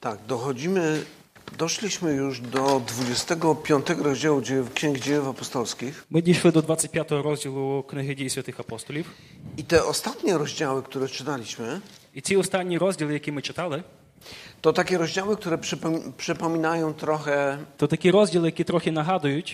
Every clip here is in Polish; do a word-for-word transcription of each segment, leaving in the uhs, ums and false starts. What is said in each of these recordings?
Tak, dochodzimy, doszliśmy już do dwudziestego piątego rozdziału Księgi Dziejów Apostolskich. Ми дійшли до двадцять п'ятого розділу книги Дій святих апостолів. I te ostatnie rozdziały, które czytaliśmy, І ці останні розділи, які ми читали, to takie rozdziały, które przypom- przypominają trochę, то такі розділи, які трохи нагадують.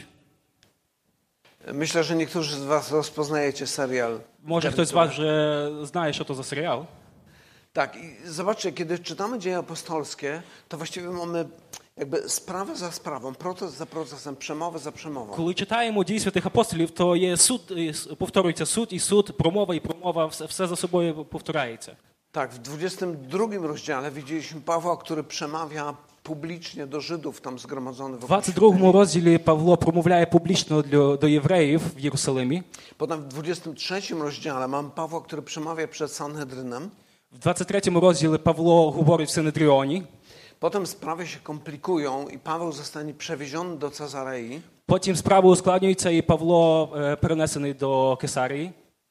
myślę, że niektórzy z was rozpoznajecie serial. Може хтось з вас вже знає, що то за серіал. Tak, i zobaczcie, kiedy czytamy Dzieje Apostolskie, to właściwie mamy jakby sprawę za sprawą, proces za procesem, przemowę za przemową. Коли читаємо Дій святих апостолів, то є суд, повторюється суд і суд, промова і промова, все, все за собою повторяється. Tak, w dwudziestym drugim rozdziale widzieliśmy Pawła, który przemawia publicznie do Żydów tam zgromadzonych В wokół двадцять другому розділі Павло промовляє публічно для, до євреїв в Єрусалимі. Potem w dwudziestym trzecim rozdziale mamy Pawła, który przemawia przed Sanhedrynem. В двадцять третьому розділі Павло говорить в Синедріоні. Potem sprawy się komplikują i Paweł zostanie przewieziony do Cezarei. Потім справи ускладнюються і Павло е, перенесений до Кесарії.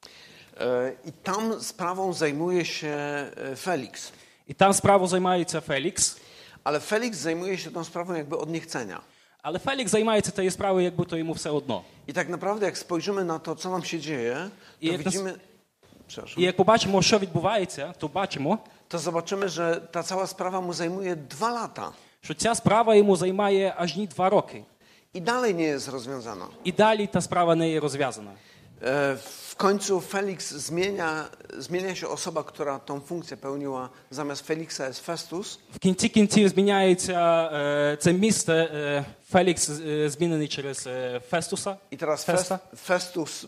I tam sprawą zajmuje się Felix. І там справу займається Фелікс. Ale Felix zajmuje się tą sprawą jakby od niechcenia. Але Фелікс займається тією справою, якби то йому все одно. I tak naprawdę jak spojrzymy na to, co nam się dzieje, to I jak nas- widzimy... Przepraszam. І як побачимо, що відбувається, то бачимо, To zobaczymy, że ta cała sprawa mu zajmuje dwa lata. що ця справа йому займає аж ні два роки. I dalej nie jest rozwiązana. І далі та справа не є розв'язана. E, W końcu Felix zmienia, zmienia się osoba, która tą funkcję pełniła. Zamiast Feliksa jest Festus. В кінці кінців зміняється е, це місце, е, Фелікс е, змінений через е, Фестуса. I teraz Festa. Fest, Festus,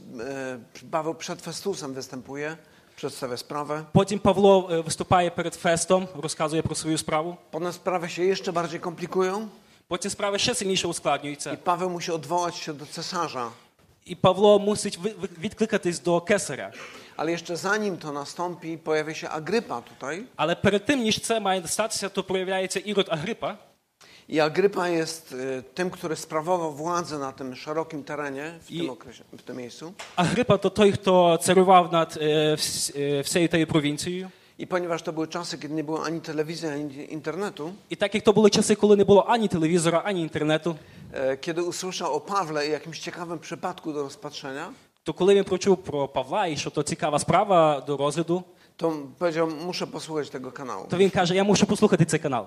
e, Paweł przed Festusem występuje, przedstawia sprawę. Потім Павло е, виступає перед Фестом, розказує про свою справу. Potem sprawy się jeszcze bardziej komplikują Потім справи ще сильніше i ускладнюються. Paweł musi odwołać się do cesarza. І Павло мусить ви- ви- відкликатись до Кесаря. Ale jeszcze zanim to nastąpi, pojawia się Agrypa tutaj. Але перед тим, ніж це має статися, то проявляється Ірод Агрипа. I Agrypa jest e, tym, który sprawował władzę na tym szerokim terenie w I- tym okresie, w tym miejscu. Агрипа – то той, хто царював над е, вс- е, всією тією провінцією. I ponieważ to były czasy, kiedy nie było ani telewizji, ani internetu, І так як то були часи, коли не було ані телевізора, ані інтернету, e, kiedy usłyszał o Pawle i jakimś ciekawym przypadku do rozpatrzenia, то коли він почув про Павла і що то цікава справа до розгляду, to powiedział, muszę posłuchać tego kanału. то він каже, я мушу послухати цей канал.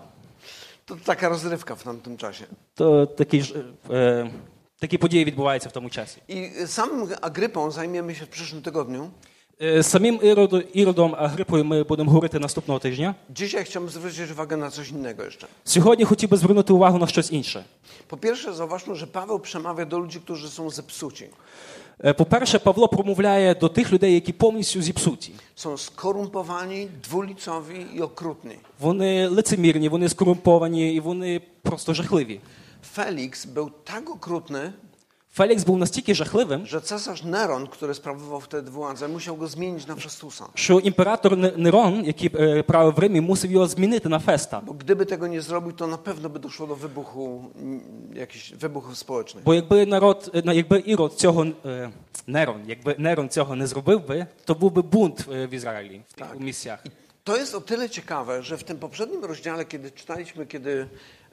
To taka rozrywka w tamtym czasie. То такі, ж, е, такі події відбуваються в тому часі. I samym Agrypą zajmiemy się w przyszłym tygodniu. Е, Самим Іроду, Іродом Агрипою ми будемо говорити наступного тижня. Dzisiaj chciałbym zwrócić uwagę na coś innego jeszcze. Сьогодні хотів би звернути увагу на щось інше. Po pierwsze, zauważmy, że Paweł przemawia do ludzi, którzy są zepsuci. Е, По-перше, Павло промовляє до тих людей, які повністю зіпсуті. Są skorumpowani, dwulicowi i okrutni. Вони лицемірні, вони скорумповані і вони просто жахливі. Felix był tak okrutny, Фелікс був настільки жахливим, że cesarz Neron, który sprawował wtedy władzę, musiał go zmienić na Festusa. що імператор Не- Нерон, який е, правив в Римі, мусив його змінити на Феста. Bo gdyby tego nie zrobił, to na pewno by doszło do wybuchu, mm, jakichś wybuchów społecznych. Бо якби народ, е, на- якби Ірод цього е, Нерон, якби Нерон цього не зробив би, то був би бунт е, в Ізраїлі в тих Так. місцях. I to jest o tyle ciekawe, że w tym poprzednim rozdziale, kiedy czytaliśmy, kiedy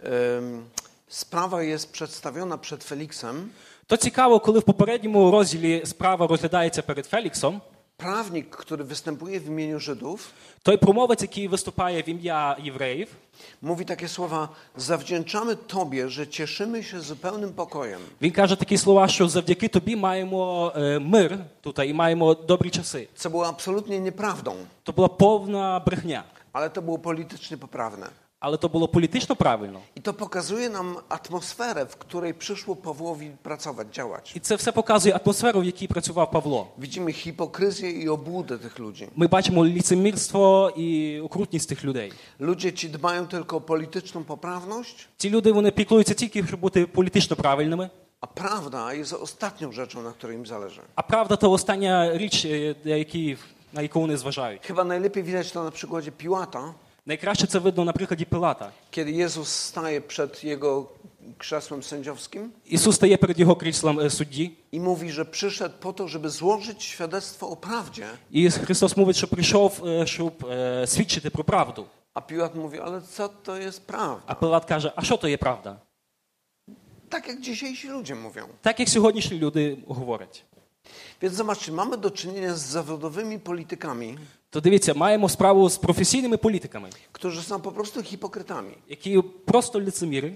em, sprawa jest przedstawiona przed Feliksem, То цікаво, коли в попередньому розділі справа розглядається перед Феліксом, prawnik, który występuje w imieniu Żydów, той промовець, який виступає в ім'я євреїв, mówi takie słowa: zawdzięczamy Tobie, że cieszymy się zupełnym pokojem. він каже такі слова, що завдяки тобі маємо е, мир тут і маємо добрі часи. Co było absolutnie nieprawdą, То була повна брехня, ale to było politycznie poprawne. але то було політично правильно. I to pokazuje nam atmosferę, w której przyszło Pawłowi pracować, działać. І це все показує атмосферу, в якій працював Павло. Widzimy hipokryzję i obłudę tych ludzi. Ми бачимо ліцемірство і окрутність тих людей. Ludzie ci dbają tylko o polityczną poprawność, Ці люди, вони піклуються тільки, щоб бути політично правильними, a prawda jest ostatnią rzeczą, na której im zależy. а правда – то остання річ, е, на які- на яку вони зважають. Chyba najlepiej widać to na przykładzie Piłata, Найкраще це видно на прикладі Пилата. kiedy Jezus staje przed jego krzesłem sędziowskim Ісус стає перед його кріслом е, судді, i mówi, że przyszedł po to, żeby złożyć świadectwo o prawdzie, і Христос мовить, що прийшов, е, щоб е, свідчити про правду. a A Piłat mówi, ale co to jest prawda? А Пилат каже, а що то є правда? Tak jak dzisiejsi ludzie mówią. Так як сьогоднішні люди говорять. Więc zobaczcie, mamy do czynienia z zawodowymi politykami, То дивіться, маємо справу з професійними політиками, którzy są po prostu hipokrytami. які просто лицеміри.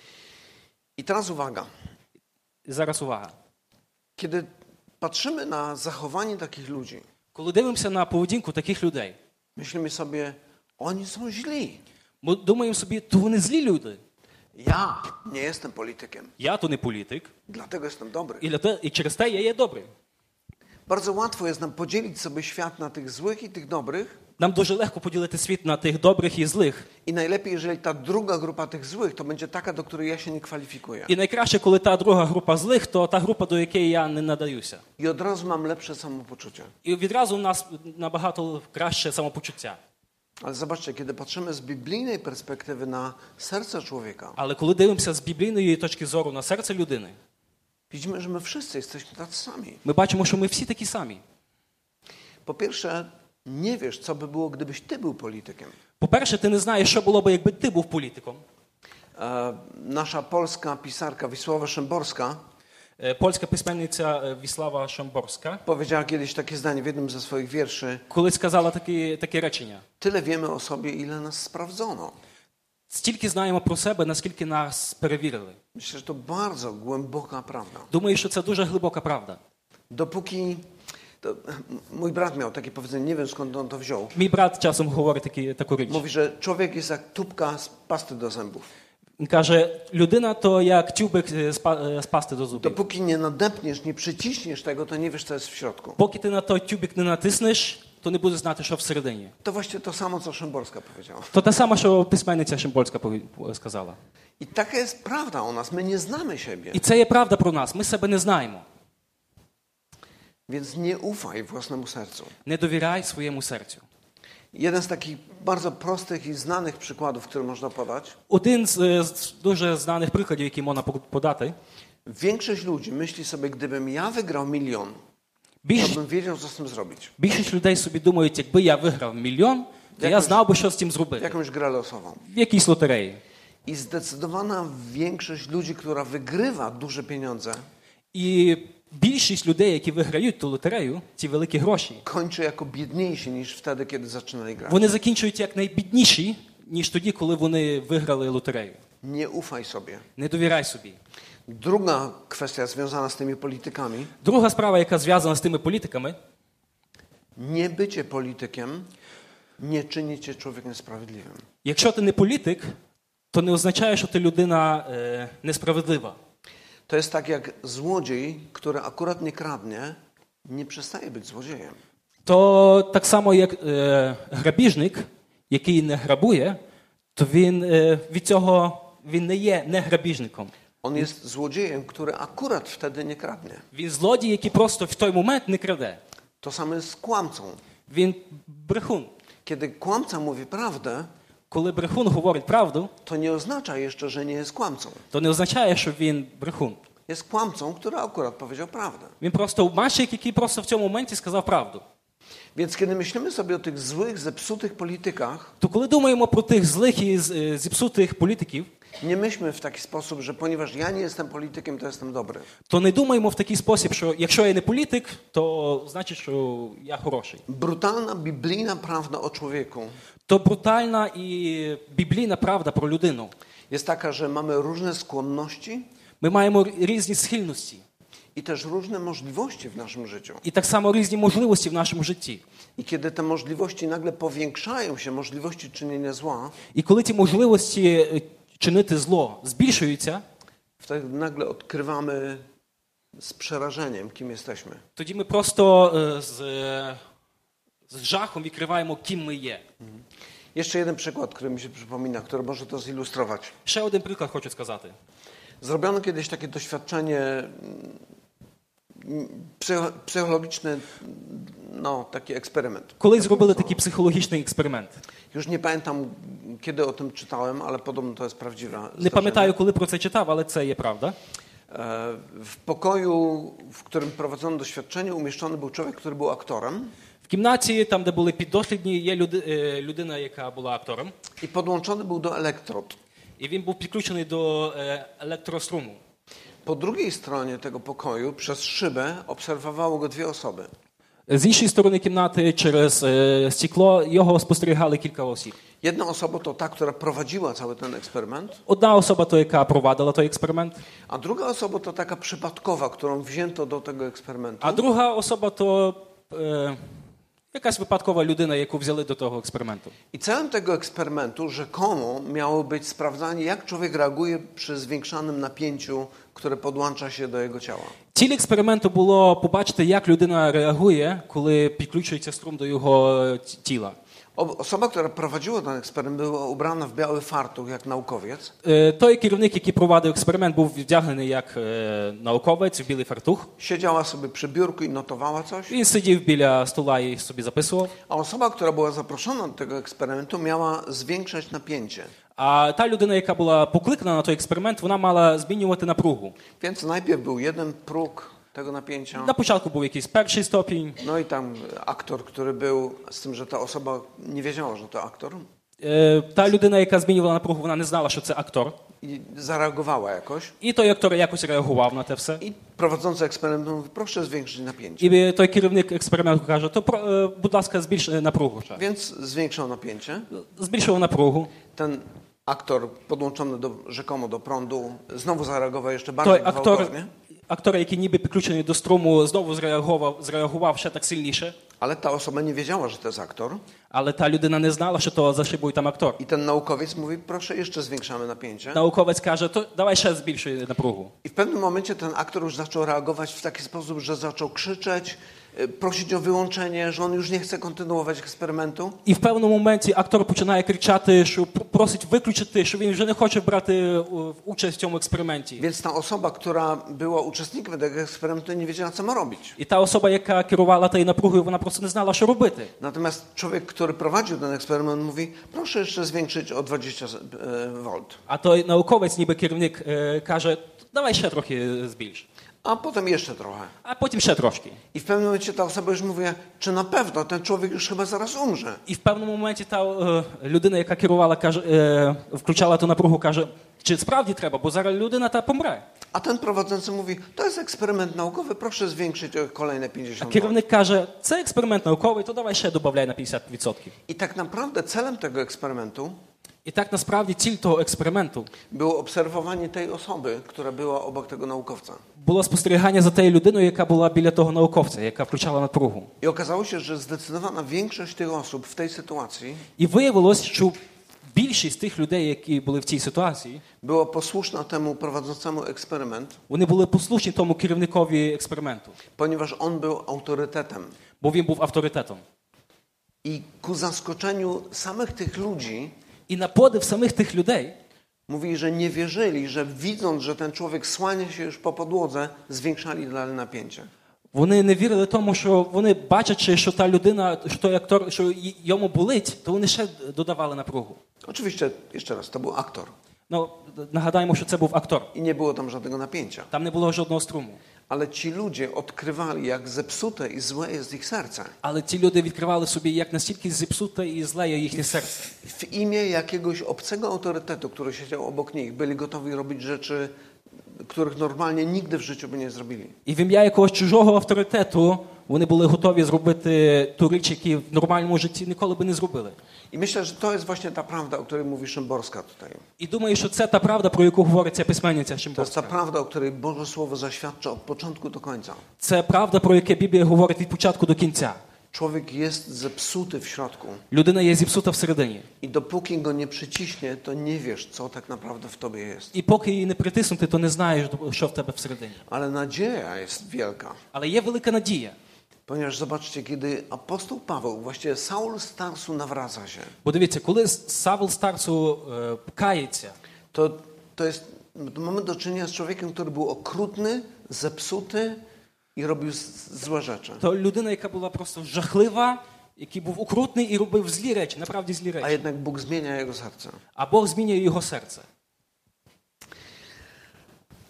I teraz uwaga. І зараз увага. Kiedy patrzymy na zachowanie takich ludzi, Коли дивимося на поведінку таких людей, myślimy sobie, oni są źli. ми думаємо собі, то вони злі люди. Ja nie jestem politykiem, Я то не політик, dlatego jestem dobry. і, для те, і через те я є добрий. Bardzo łatwo jest nam podzielić sobie świat na tych złych i tych dobrych. Нам дуже легко поділити світ на тих добрих і злих. I najlepiej, jeżeli ta druga grupa tych złych, to będzie taka, do której ja się nie kwalifikuję. І найкраще, коли та друга група злих, то та група, до якої я не надаюся. I od razu mam lepsze samopoczucie. І відразу у нас набагато краще самопочуття. Ale zobaczcie, kiedy patrzymy z biblijnej perspektywy na serce człowieka, Але коли дивимося з біблійної точки зору на серце людини, widzimy, że my wszyscy jesteśmy tacy sami. ми бачимо, що ми всі такі самі. Po pierwsze, nie wiesz, co by było, gdybyś ty był politykiem. По-перше, ти не знаєш, що було б, якби ти був політиком. E, nasza polska pisarka Wisława Szymborska Е, Польська письменниця е, Віслава Шамборська powiedziała kiedyś takie zdanie w jednym ze swoich wierszy. колись сказала такі, таке речення. Tyle wiemy o sobie, ile nas sprawdzono. Стільки знаємо про себе, наскільки нас перевірили. Myślę, że to bardzo głęboka prawda. Думаю, що це дуже глибока правда. Dopóki... To, mój brat miał takie powiedzenie, nie wiem skąd on to wziął. Мій брат часом говорить такі, таку річ. Mówi, że człowiek jest jak tubka z pasty do zębów. Він каже, людина то як тюбик е, з па- е, з пасти до зубів. Dopóki nie nadepniesz, nie przyciśniesz tego, to nie wiesz, co jest w środku. Поки ти на той тюбик не натиснеш, то не будеш знати, що всередині. To właściwie to samo, co Szymborska powiedziała. То те саме, що письменниця Шимбольська пові- сказала. I taka jest prawda o nas. My nie znamy siebie. І це є правда про нас. Ми себе не знаємо. Więc nie ufaj własnemu sercu. Не довіряй своєму серцю. Jeden z takich bardzo prostych i znanych przykładów, który można podać. Один з, е, з дуже знаних прикладів, які можна по- подати. Większość ludzi myśli sobie, gdybym ja wygrał milion, to Більш, bym wiedział, co z tym zrobić. більшість людей собі думають, якби я виграв мільйон, то я Якось- знав би, що з цим зробити. Jakąś grę losową. В якійсь лотереї. I zdecydowana większość ludzi, która wygrywa duże pieniądze, І більшість людей, які виграють ту лотерею, ці великі гроші, kończy jako biedniejsi niż wtedy, kiedy zaczynali grać. вони закінчують як найбідніші, ніж тоді, коли вони виграли лотерею. Nie ufaj sobie. Не довіряй собі. Druga kwestia związana z tymi politykami. Друга справа, яка зв'язана з тими політиками, Nie bycie politykiem nie czyni cię człowiekiem sprawiedliwym. якщо ти не політик, то не означає, що ти людина е, несправедлива. To jest tak jak złodziej, który akurat nie kradnie, nie przestaje być złodziejem. То так само, як е, грабіжник, який не грабує, то він е, від цього він не є не грабіжником. On jest złodziejem, który akurat wtedy nie kradnie. Він злодій, який просто в той момент не краде. To samo jest z kłamcą. Він брехун. Kiedy kłamca mówi prawdę, Коли брехун говорить правду, to nie oznacza jeszcze, że nie jest kłamcą. то не означає, що він брехун. Jest kłamcą, który akurat powiedział prawdę. Він просто обманщик, який просто в цьому моменті сказав правду. Więc kiedy myślimy sobie o tych złych, zepsutych politykach, То коли думаємо про тих злих і з- е, зіпсутих політиків, nie myślmy w taki sposób, że ponieważ ja nie jestem politykiem, to jestem dobry. то не думаємо в такий спосіб, що якщо я не політик, то значить, що я хороший. Brutalna, biblijna prawda o człowieku То брутальна і біблійна правда про людину. jest taka, że mamy różne skłonności Ми маємо різні схильності i też różne możliwości w naszym życiu. і так само різні можливості в нашому житті. I kiedy te możliwości nagle powiększają się, możliwości czynienia zła, І коли ці можливості е, чинити зло збільшуються, wtedy nagle odkrywamy z przerażeniem, kim jesteśmy. тоді ми просто е, з, е, з жахом відкриваємо, ким ми є. Jeszcze jeden przykład, który mi się przypomina, który może to zilustrować. Ще один приклад хочу сказати. Zrobiono kiedyś takie doświadczenie mm, psycho- psychologiczne, no taki eksperyment. Колись зробили такий психологічний експеримент. Już nie pamiętam, kiedy o tym czytałem, ale podobno to jest prawdziwe. Не zdarzenie. пам'ятаю, коли про це читав, але це є правда. E, W pokoju, w którym prowadzono doświadczenie, umieszczony był człowiek, który był aktorem. В кімнаті, там, де були піддослідні, є люди, е, людина, яка була актором. I podłączony był do elektrod. І він був підключений до е, електроструму. Po drugiej stronie tego pokoju, przez szybę, obserwowało go dwie osoby. З іншої сторони кімнати, через е, стекло, його спостерігали кілька осіб. Jedna osoba to ta, która prowadziła cały ten eksperyment, Одна особа, то, яка провадила той експеримент, a druga osoba to taka przypadkowa, którą wzięto do tego eksperymentu. а друга особа, то е, якась випадкова людина, яку взяли до того експерименту. I celem tego eksperymentu rzekomo miało być sprawdzanie, jak człowiek reaguje przy zwiększanym napięciu, które podłącza się do jego ciała. Ціль експерименту було побачити, як людина реагує, коли підключується струм до його тіла. Osoba, która prowadziła ten eksperyment, była ubrana w biały fartuch, jak naukowiec. Е, Той керівник, який провадив експеримент, був вдягнений як е, науковець в білий фартух. Siedziała sobie przy biurku i notowała coś. Він сидів біля стола і собі записував. A osoba, która była zaproszona do tego eksperymentu, miała zwiększać napięcie. А та людина, яка була покликана на той експеримент, вона мала змінювати напругу. Więc najpierw był jeden próg tego napięcia. На початку був якийсь перший ступінь. No i tam aktor, który był, z tym, że ta osoba nie wiedziała, że to aktor. Е, Та людина, яка змінювала напругу, вона не знала, що це актор. I zareagowała jakoś. І той актор якось реагував на те все. I prowadzący eksperyment mówi, proszę zwiększyć napięcie. І той керівник експерименту каже, то, про- е, будь ласка, збільш е, напругу. ще. Więc zwiększał napięcie. Збільшував напругу. Ten aktor podłączony do, rzekomo do prądu znowu zareagował jeszcze bardziej Той актор, gwałtownie. актор, який ніби підключений до струму, знову зреагував, зреагував ще так сильніше. Ale ta osoba nie wiedziała, że to jest aktor. Але та людина не знала, що то за шибою там актор. I ten naukowiec mówi, proszę jeszcze zwiększamy napięcie. Науковець каже, то давай ще збільшуй напругу. I w pewnym momencie ten aktor już zaczął reagować w taki sposób, że zaczął krzyczeć, y, prosić o wyłączenie, że on już nie chce kontynuować eksperymentu. І в певному моменті актор починає кричати, що пр- просить виключити, що він вже не хоче брати е, участь в цьому експерименті. Więc ta osoba, która była uczestnikiem tego eksperymentu, nie wiedziała, co ma robić. І та особа, яка керувала тією напругою, вона просто не знала, що робити. Natomiast człowiek, który prowadził ten eksperyment, mówi, proszę jeszcze zwiększyć o dwadzieścia wolt. А той науковець, ніби керівник, е, каже, давай ще трохи збільш. A potem jeszcze trochę. А потім ще трошки. I w pewnym momencie ta osoba już mówi, czy na pewno ten człowiek już chyba zaraz umrze. І в певному моменті та е, людина, яка керувала, каже, е, включала ту напругу, каже, чи справді треба, бо зараз людина та помре. A ten prowadzący mówi, to jest eksperyment naukowy, proszę zwiększyć o kolejne А pięćdziesiąt wolt. керівник каже, це експеримент науковий, то давай ще додай на п'ятдесят відсотків. I tak naprawdę celem tego eksperymentu І так насправді ціль того експерименту było obserwowanie tej osoby, która była obok tego naukowca. було спостерігання за тією людиною, яка була біля того науковця, яка включала напругу. I okazało się, że zdecydowana większość tych osób w tej sytuacji І виявилось, що більшість тих людей, які були в цій ситуації, była posłuszna temu prowadzącemu eksperyment, вони були послушні тому керівникові експерименту, ponieważ on był autorytetem. бо він був авторитетом. I ku zaskoczeniu samych tych ludzi І на подив самих тих людей, mówi, że nie wierzyli, że widząc, że ten człowiek słania się już po podłodze, zwiększali dalej napięcie. вони не вірили тому, що вони бачачи, що та людина, що той актор, що й- йому болить, то вони ще додавали напругу. Oczywiście, jeszcze raz, to był aktor Ну, нагадаємо, що це був актор. i nie było tam żadnego napięcia. Там не було жодного струму. Ale ci ludzie odkrywali, jak zepsute i złe jest ich serce. Але ці люди відкривали собі, як настільки зіпсуте і зле є їхнє серце. W imię jakiegoś obcego autorytetu, który siedział obok nich, byli gotowi robić rzeczy, których normalnie nigdy w życiu by nie zrobili. І в ім'я якогось чужого авторитету вони були готові зробити ту річ, які в нормальному житті ніколи би не зробили. I myślę, że to jest właśnie ta prawda, o której mówi Szymborska tutaj. І думаю, що це та правда, про яку говорить ця письменниця To jest ta Шимборська. prawda, o której Boże Słowo zaświadcza od początku do końca. Це правда, про яку Біблія говорить від початку до кінця. Człowiek jest zepsuty w środku Людина є зіпсута всередині. i dopóki go nie przyciśnie, to nie wiesz, co tak naprawdę w tobie jest. І поки її не притиснути, то не знаєш, що в тебе всередині. Ale nadzieja jest wielka. Але є велика надія. Ponieważ zobaczcie, kiedy apostoł Paweł, właściwie Saul z Tarsu nawraca się, Бо дивіться, коли Савл Старцу е, кається, to, to jest, to mamy do czynienia z człowiekiem, który był okrutny, zepsuty i robił z- złe rzeczy. то людина, яка була просто жахлива, який був окрутний і робив злі речі, направді злі A речі. jednak Bóg zmienia jego serce. А Бог змінює його серце.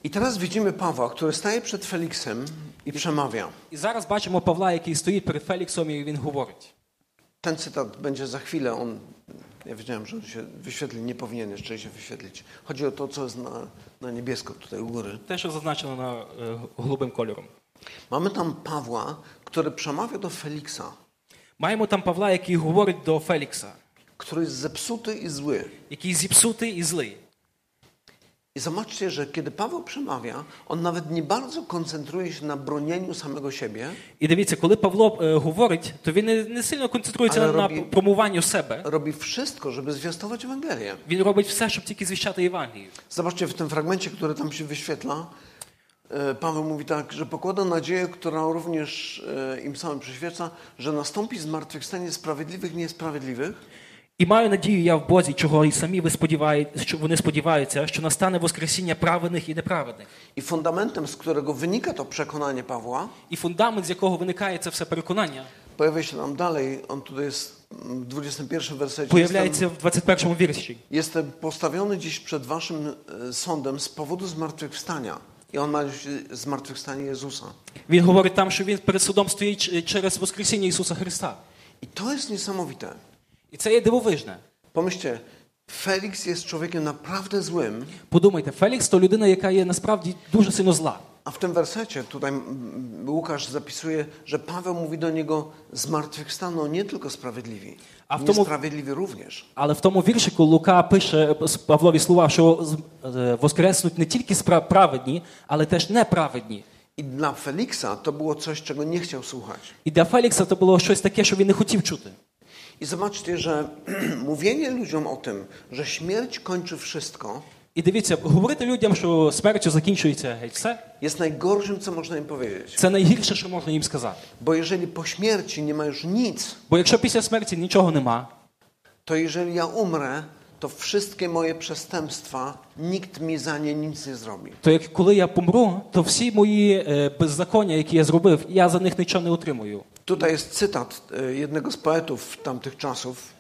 I teraz widzimy Pawła, który staje przed Feliksem i przemawia. І зараз бачимо Павла, який стоїть перед Феліксом, і він говорить. Ten cytat będzie za chwilę, on, ja wiedziałem, że on się wyświetli, nie powinien jeszcze się wyświetlić. Chodzi o to, co jest na, na niebiesko tutaj u góry. Те, що зазначено на е, голубим кольором. Mamy tam Pawła, który przemawia do Feliksa, Маємо там Павла, який говорить до Фелікса, który jest zepsuty i zły. який зіпсутий і злий. I zobaczcie, że kiedy Paweł przemawia, on nawet nie bardzo koncentruje się na bronieniu samego siebie, І дивіться, коли Павло е, говорить, то він не, не сильно концентрується Але на, робі- на промуванню себе. robi wszystko, żeby zwiastować Ewangelię. Він робить все, щоб тільки звіщати Євангелію. Zobaczcie, w tym fragmencie, który tam się wyświetla, e, Paweł mówi tak, że pokłada nadzieję, która również e, im samym przyświeca, że nastąpi zmartwychwstanie sprawiedliwych i niesprawiedliwych. І маю надію я в Бозі, чого і самі ви сподіваєтеся, що вони сподіваються, що настане воскресіння праведних і неправедних. I fundamentem, z którego wynika to przekonanie Pawła, І фундамент, з якого виникає це все переконання, pojawia się nam dalej, on tutaj jest w dwudziestym pierwszym wersecie. появляється Jestem, в двадцять першому вірші. jestem postawiony dziś przed waszym e, sądem z powodu zmartwychwstania. I on ma zmartwychwstanie Jezusa. Він говорить там, що він перед судом стоїть через воскресіння Ісуса Христа. I to jest niesamowite. І це є дивовижне. Pomyślcie, Feliks jest człowiekiem naprawdę złym, Подумайте, Фелікс – то людина, яка є насправді дуже сильно зла. a w tym wersecie tutaj mm, Łukasz zapisuje, że Paweł mówi do niego zmartwychwstaną nie tylko sprawiedliwi, A w tomu- niesprawiedliwi również. Але в тому віршику Лука пише Павлові слова, що е, воскреснуть не тільки спра- праведні, але теж неправедні. I dla Feliksa to było coś, czego nie chciał słuchać. І для Фелікса це було щось таке, що він не хотів чути. I zobaczcie, że mówienie ludziom o tym, że śmierć kończy wszystko, І дивіться, говорити людям, що смертю закінчується геть все, jest najgorszym, co można im powiedzieć. це найгірше, що можна їм сказати. Bo jeżeli po śmierci nie ma już nic, Бо якщо після смерті нічого нема, to jeżeli ja umrę, to wszystkie moje przestępstwa, nikt mi za nie nic nie zrobi. то як коли я помру, то всі мої е, беззаконня, які я зробив, я за них нічого не отримую. Tutaj jest cytat e, jednego z poetów tamtych czasów.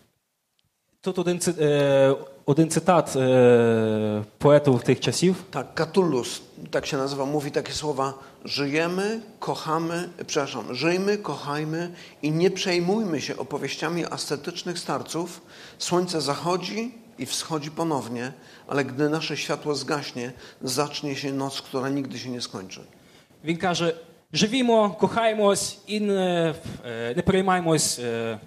Тут один, ци- е, один цитат е, поету тих часів. Tak, Catullus, tak się nazywa, mówi takie słowa: żyjemy, kochamy, przepraszam, żyjmy, kochajmy i nie przejmujmy się opowieściami ascetycznych starców. Słońce zachodzi i wschodzi ponownie, ale gdy nasze światło zgaśnie, zacznie się noc, która nigdy się nie skończy. Він каже, живімо, кохаємось і не, е, не переймаємось е,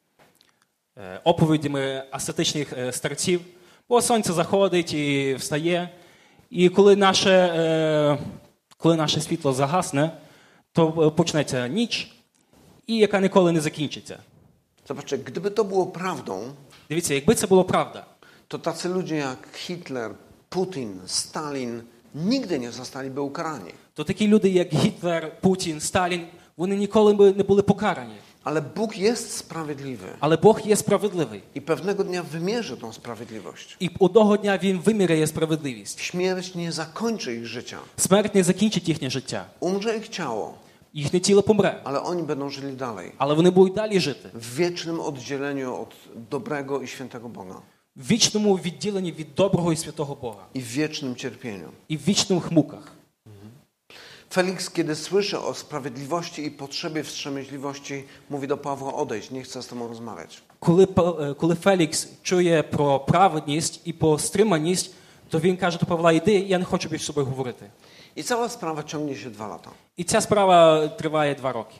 е, оповідями асцетичних е, старців, бо сонце заходить і встає, і коли наше, е, коли наше світло загасне, то почнеться ніч, і яка ніколи не закінчиться. Zobaczcie, gdyby to było prawdą, Дивіться, якби це було правда, to tacy ludzie jak Hitler, Putin, Stalin nigdy nie zostaliby ukarani. то такі люди, як Гітлер, Путін, Сталін, вони ніколи б не були покарані. Ale Bóg jest sprawiedliwy Але Бог є справедливий. i pewnego dnia wymierzy tą sprawiedliwość. І одного дня Він виміряє справедливість. Śmierć nie zakończy ich życia. Смерть не закінчить їхнє життя. Umrze ich ciało, Їхнє тіло помре. ale oni będą żyli dalej. Але вони будуть далі жити. W wiecznym oddzieleniu od dobrego i świętego Boga. В вічному відділенні від доброго і святого Бога. I w wiecznym cierpieniu. І в вічних муках. Feliks, kiedy słyszy o sprawiedliwości i potrzebie wstrzemięźliwości, mówi do Pawła: odejdź, nie chcę z tobą rozmawiać. Коли, Па- коли Фелікс чує про праведність і про стриманість, то він каже до Павла, іди, я не хочу більше з собою говорити. I cała sprawa ciągnie się dwa lata. І ця справа триває два роки.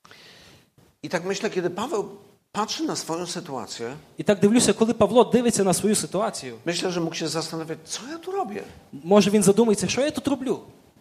I tak myślę, kiedy Paweł patrzy na swoją sytuację, І так дивлюся, коли Павло дивиться на свою ситуацію, myślę, że mógł się zastanawiać, co ja tu robię. може він задумається, що я тут роблю.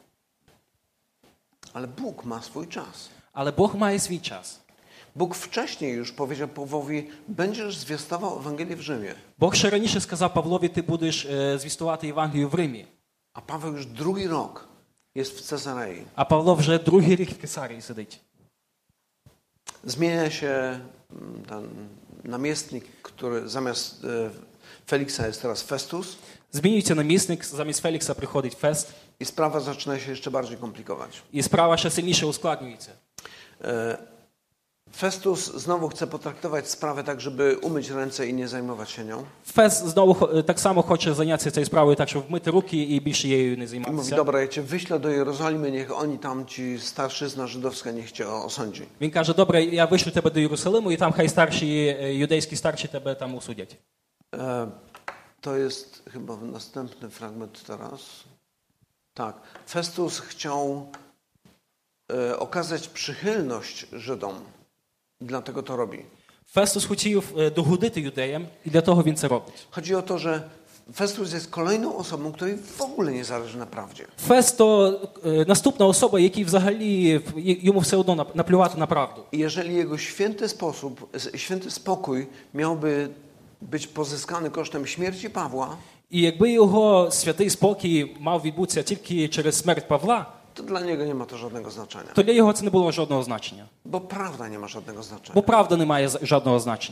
Ale Bóg ma swój czas. Але Бог має свій час. Bóg wcześniej już powiedział Pawłowi: będziesz zwiastował Ewangelię w Rzymie. Бог ще раніше сказав Павлові, ти будеш е, звістувати Євангелію в Римі. A Paweł już drugi rok jest w Cezarei. А Павло вже другий рік в Кесарії сидить. Zmienia się mm, ten namiestnik, który zamiast e, Feliksa jest teraz Festus, Змінюється намісник, замість Фелікса приходить Фест, i sprawa zaczyna się jeszcze bardziej komplikować. і справа ще сильніше ускладнюється. E, Festus znowu chce potraktować sprawę tak, żeby umyć ręce i nie zajmować się nią. Фес знову хо- так само хоче зайнятися цією справою, так щоб вмити руки і більше її не I mówi, займатися. dobra, ja cię wyślę do Jerozolimy, niech oni tam, ci starszyzna żydowska, niech cię osądzi. Він каже: добре, я вишлю тебе до Єрусалиму, і там хай старші е, юдейські старші тебе там осудять. E, to jest chyba następny fragment teraz. Tak. Festus chciał e, okazać przychylność Żydom. Dlatego to robi. Фестус хотів е, догодити юдеям, і для того він це робить. Chodzi o to, że Festus jest kolejną osobą, której w ogóle nie zależy na prawdzie. Фест – то е, наступна особа, який взагалі в- й- йому все одно нап- наплювати на правду. I jeżeli jego święty sposób, święty spokój miałby być pozyskany kosztem śmierci Pawła, І якби його святий спокій мав відбутися тільки через смерть Павла, to dla niego nie ma to żadnego znaczenia. то для його це не було жодного значення. Bo prawda nie ma żadnego znaczenia. Бо правда не має з- жодного значення.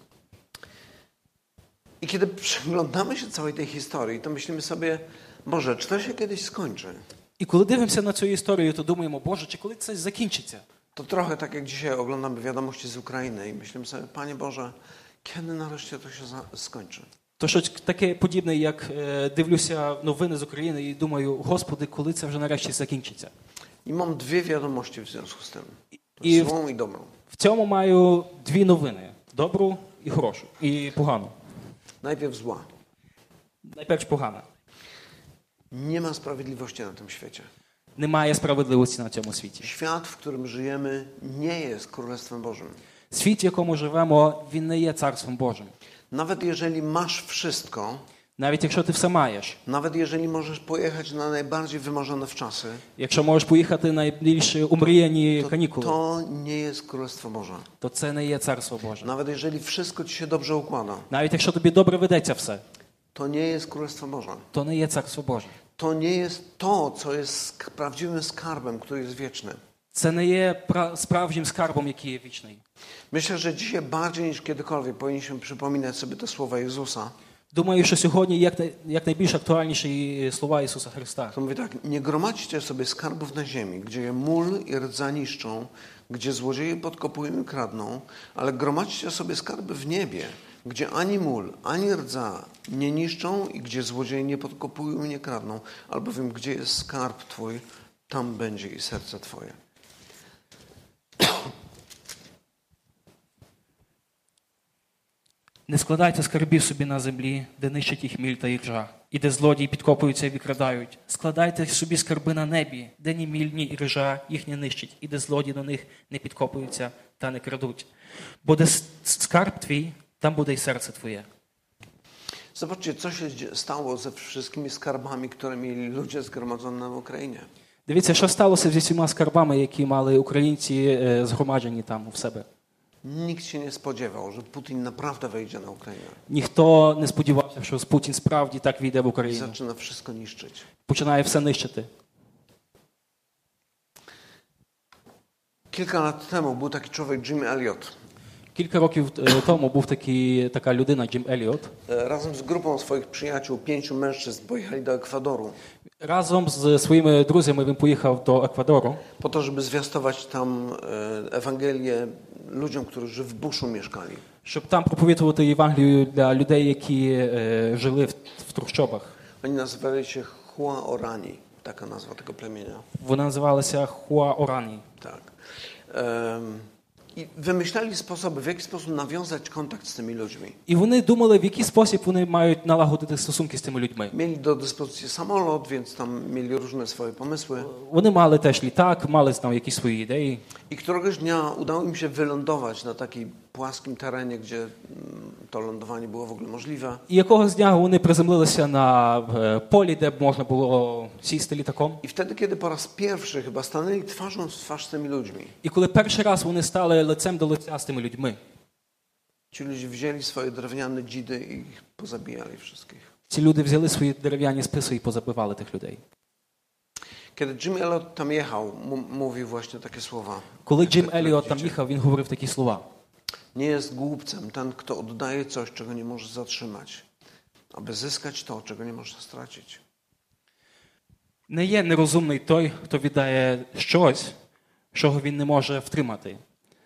I kiedy przyglądamy się całej tej historii, to myślimy sobie, Boże, czy to się kiedyś skończy? І коли дивимося на цю історію, то думаємо: Боже, чи коли це закінчиться? To trochę tak jak dzisiaj oglądamy wiadomości z Ukrainy i myślimy sobie, Panie Boże, kiedy nareszcie to się za- skończy? То щось таке подібне, як е, дивлюся новини з України і думаю: Господи, коли це вже нарешті закінчиться? I mam dwie wiadomości w związku z tym. I w- Złą i dobrą. В цьому маю дві новини: добру і хорошу, і погану. Najpierw zła. Найперш погана. Nie ma sprawiedliwości na tym świecie. Немає справедливості на цьому світі. Świat, w którym żyjemy, nie jest Królestwem Bożym. Світ, в якому живемо, він не є Царством Божим. Nawet jeżeli masz wszystko, Навіть якщо ти все маєш, nawet jeżeli możesz pojechać na najbardziej wymarzone wczasy, якщо можеш поїхати на найбільш умріяні to, канікули, to nie jest Królestwo Boże. то це не є Царство Боже. Nawet jeżeli wszystko ci się dobrze układa, Навіть якщо тобі добре ведеться все, to nie jest Królestwo Boże. то не є Царство Боже. To nie jest to, co jest sk- prawdziwym skarbem, który jest wieczny. Це не є пра- справжнім скарбом, який є вічний. Myślę, że dzisiaj bardziej niż kiedykolwiek powinniśmy przypominać sobie te słowa Jezusa. Думаю, що сьогодні як, най- як найбільш актуальніші слова Ісуса Христа. To mówi tak, nie gromadźcie sobie skarbów na ziemi, gdzie je mól i rdza niszczą, gdzie złodzieje podkopują i kradną, ale gromadźcie sobie skarby w niebie, gdzie ani mól, ani rdza nie niszczą i gdzie złodzieje nie podkopują i nie kradną, albowiem gdzie jest skarb Twój, tam będzie i serce Twoje. Не складайте скарбів собі на землі, де нищить їх міль та іржа, і де злодії підкопуються і викрадають. Складайте собі скарби на небі, де ні міль, ні іржа їх не нищить, і де злодії до них не підкопуються та не крадуть. Бо де с- скарб твій, там буде й серце твоє. Zobaczcie, co się dzie- stało ze wszystkimi skarbami, które mieli ludzie zgromadzone na Ukrainie. Дивіться, що сталося зі всіма скарбами, які мали українці е, згромаджені там у себе. Nikt się nie spodziewał, że Putin naprawdę wejdzie na Ukrainę Ніхто не сподівався, що Путін справді так війде в i Україну. zaczyna wszystko niszczyć. Починає все нищити. Kilka lat temu był taki człowiek, Jim Elliot. Кілька років е, тому був такий, така людина, Джим Еліот. E, Razem z grupą swoich przyjaciół, pięciu mężczyzn, pojechali do Ekwadoru Разом з своїми друзями він поїхав до Еквадору, po to, żeby zwiastować tam e, Ewangelię ludziom, którzy w buszu mieszkali. щоб там проповідувати Євангелію для людей, які е, жили в, в трущобах. Oni nazywali się Hua Orani, taka nazwa tego plemienia. Вона називалася Хуа Орані. Tak. Em, I wymyślali sposoby, w jaki sposób nawiązać kontakt z tymi ludźmi. І вони думали, в який спосіб вони мають налагодити стосунки з тими людьми. Mieli do dyspozycji samolot, więc tam mieli różne swoje pomysły. Вони мали теж літак, мали там якісь свої ідеї. I któregoś dnia udało im się wylądować na takim płaskim terenie, gdzie mm, to lądowanie było w ogóle możliwe. І якогось дня вони приземлилися на е, полі, де б можна було сісти літаком. I wtedy, kiedy po raz pierwszy chyba stanęli twarzą w twarz z tymi ludźmi, І коли перший раз вони стали лицем до лиця з тими людьми, ci ludzie wzięli swoje drewniane dzidy i ich pozabijali wszystkich. ці люди взяли свої дерев'яні списи і позабивали тих людей. Kiedy Jim Elliot tam jechał, m- mówił właśnie takie słowa. Коли Джим które Еліот там widzicie. їхав, він говорив такі слова. Nie jest głupcem ten, kto oddaje coś, czego nie może zatrzymać, aby zyskać to, czego nie może stracić. Не є нерозумний той, хто віддає щось, чого він не може втримати,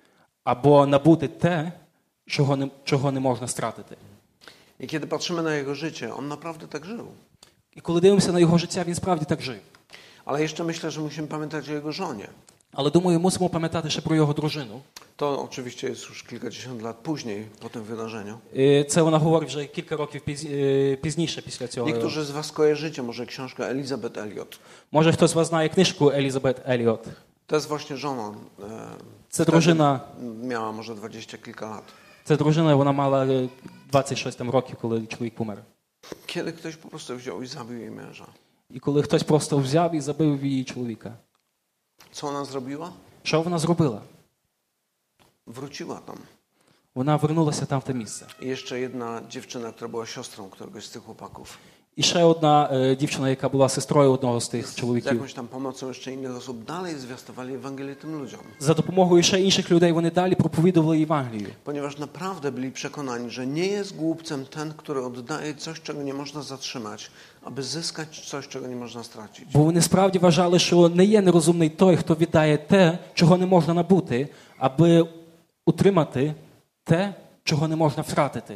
або набути те, чого не, чого не можна стратити. I kiedy patrzymy na jego życie, on naprawdę tak żył. І коли дивимося на його життя, він справді так жив. Ale jeszcze myślę, że musimy pamiętać o jego żonie. Але, думаю, мусимо пам'ятати ще про його дружину. To oczywiście jest już kilkadziesiąt lat później, po tym wydarzeniu. І це вона говорить вже кілька років піз- е, пізніше після цього. Niektórzy z was kojarzycie może książkę Elizabeth Elliot. Може, хтось з вас знає книжку Елізабет Еліот. To jest właśnie żona. e, Це wtedy дружина, Miała może dwadzieścia kilka lat. це дружина, вона мала е, двадцять шість там років, коли чоловік помер. Kiedy ktoś po prostu wziął i zabił jej męża. І коли хтось просто взяв і забив її чоловіка. Co ona zrobiła? Що вона зробила? Wróciła tam. Вона вернулася там в те місце. I jeszcze jedna dziewczyna, która była siostrą któregoś z tych chłopaków. І ще одна е, дівчина, яка була сестрою одного з тих Z чоловіків. jakąś tam pomocą jeszcze innych osób dalej zwiastowali Ewangelię tym ludziom. За допомогою ще інших людей вони далі проповідували Євангелію. Ponieważ naprawdę byli przekonani, że nie jest głupcem ten, który oddaje coś, czego nie można zatrzymać, aby zyskać coś, czego nie można stracić. Бо вони справді вважали, що не є нерозумний той, хто віддає те, чого не можна набути, аби утримати те, чого не можна втратити.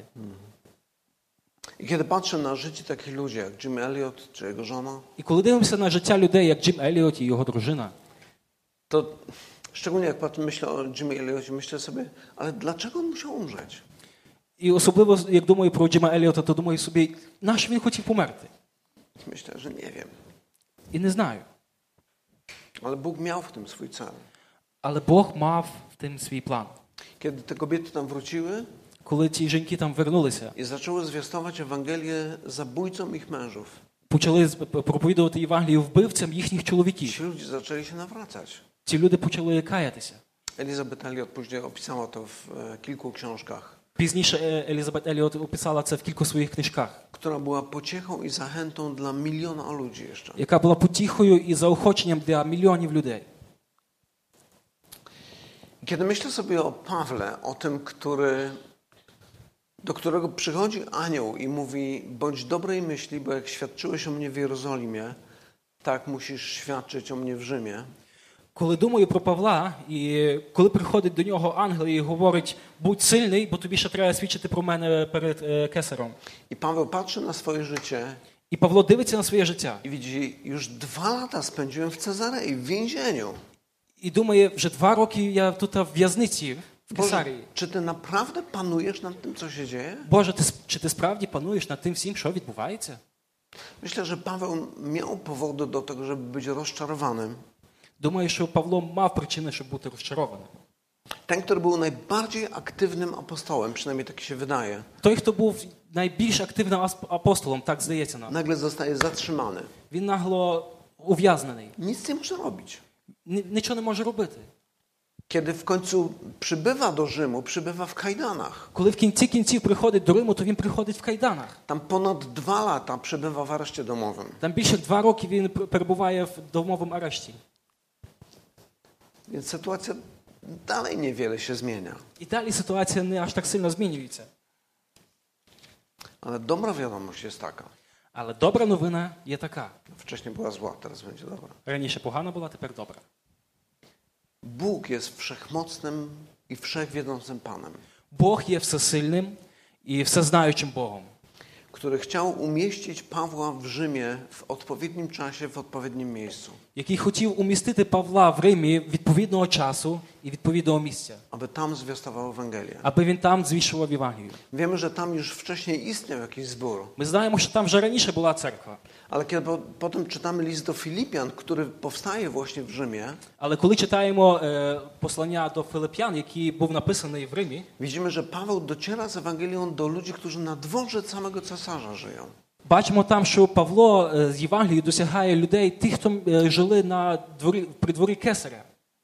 I kiedy patrzę na życie takich ludzi jak Jim Elliot czy jego żona, І коли дивимося на життя людей, як Джим Еліот і його дружина, to szczególnie jak patrzę, myślę o Jimie Elliocie, myślę sobie, ale dlaczego on musiał umrzeć? і особливо, як думаю про Джима Еліота, то думаю собі, нащо він хотів померти? Myślę, że nie wiem. І не знаю. Ale Bóg miał w tym swój cel. Але Бог мав в тим свій план. Kiedy te kobiety tam wróciły Коли ті жінки там вернулися, i zaczęły zwiastować Ewangelię zabójcom ich mężów, почали проповідувати Євангелію вбивцям їхніх чоловіків. ci ludzie zaczęli się nawracać. Ці люди почали каятися. Elizabeth Elliot później opisała to w e, kilku książkach, Пізніше е, Елізабет Еліот описала це в кількох своїх книжках, która była pociechą i zachętą dla miliona ludzi jeszcze. яка була потіхою і заохоченням для мільйонів людей. Kiedy myślę sobie o Pawle, o tym, który, do którego przychodzi anioł i mówi: bądź dobrej myśli, bo jak świadczyłeś o mnie w Jerozolimie, tak musisz świadczyć o mnie w Rzymie. Коли думаю про Павла, і коли приходить до нього ангел і говорить, будь сильний, бо тобі ще треба свідчити про мене перед е, кесарем. I Paweł patrzy na swoje życie І Павло дивиться на своє життя. i widzi: już dwa lata spędziłem w Cezarei, w więzieniu. І думає, вже два роки я тут в в'язниці, в Boże, Кесарії. czy ty naprawdę panujesz nad tym, co się dzieje? Боже, ти, чи ти справді пануєш над тим всім, що відбувається? Myślę, że Paweł miał powody do tego, żeby być rozczarowanym. Думаю, що Павло мав причини, щоб бути розчарованим. Ten, który był najbardziej aktywnym apostołem, przynajmniej tak się wydaje, Той, хто був найбільш активним ас- апостолом, так здається нам, nagle zostaje zatrzymany. він нагло ув'язнений. Nic nie może robić. Ні- Нічого не може робити. Kiedy w końcu przybywa do Rzymu, przybywa w kajdanach. Коли в кінці кінців приходить до Риму, то він приходить в кайданах. Tam ponad dwa lata przebywa w areszcie domowym. Там більше два роки він пер- перебуває в домовому арешті. Więc sytuacja dalej niewiele się zmienia. І далі ситуація не аж так сильно змінюється. Ale dobra wiadomość jest taka. Але добра новина є така. Wcześniej była zła, teraz będzie dobra. Раніше погана була, тепер добра. Bóg jest wszechmocnym i wszechwiedzącym Panem, Бог є всесильним і всезнаючим Богом, który chciał umieścić Pawła w Rzymie w odpowiednim czasie, w odpowiednim miejscu, який хотів умістити Павла в Римі відповідного часу і відповідного місця, aby tam zwiastował Ewangelię. аби він там звіщував Євангелію. Wiemy, że tam już wcześniej istniał jakiś zbór, Ми знаємо, що там вже раніше була церква. ale kiedy po, potem czytamy list do Filipian, który powstaje właśnie w Rzymie, Але коли читаємо е, послання до Филип'ян, який був написаний в Римі, widzimy, że Paweł dociera z Ewangelią do ludzi, którzy na dworze samego cesarza żyją. бачимо там, що Павло е, з Євангелією досягає людей, тих, хто е, жили на дворі, при дворі Кесаря.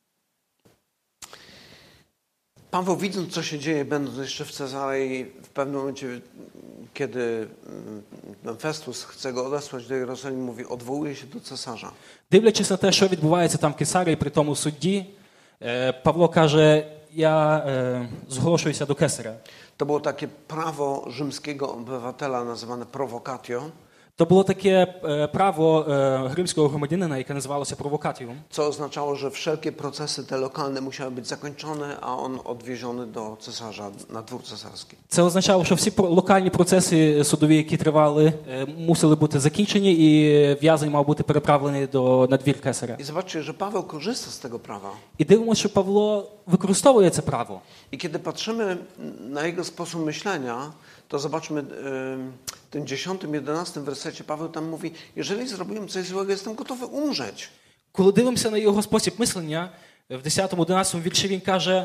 Paweł, widząc, co się dzieje, będąc jeszcze w Cezarei, w pewnym momencie, kiedy mm, Festus chce go odesłać do Jerozolimy, mówi: odwołuje się do cesarza. Дивлячись на те, що відбувається там в Кесарії при тому судді, е, Павло каже, я е, зголошуюся до Кесаря. To było takie prawo rzymskiego obywatela nazywane provocatio. To було таке е, право е, римського громадянина, яке називалося провокатіум. Co oznaczało, że wszelkie procesy te lokalne musiały być zakończone, a on odwieziony do cesarza, na dwór cesarski. Це означало, що всі про- локальні процеси судові, які тривали, е, мусили бути закінчені, і в'язень мав бути переправлений до на двір кесаря. I zobaczcie, że Paweł korzysta z tego prawa. І дивимося, що Павло використовує це право. I kiedy patrzymy na jego sposób myślenia, to zobaczmy y, w tym dziesiątym, jedenastym wersecie Paweł tam mówi, jeżeli zrobiłem coś złego, jestem gotowy umrzeć. Коли дивимося на його спосіб мислення, в десятому-одинадцятому вірші він каже,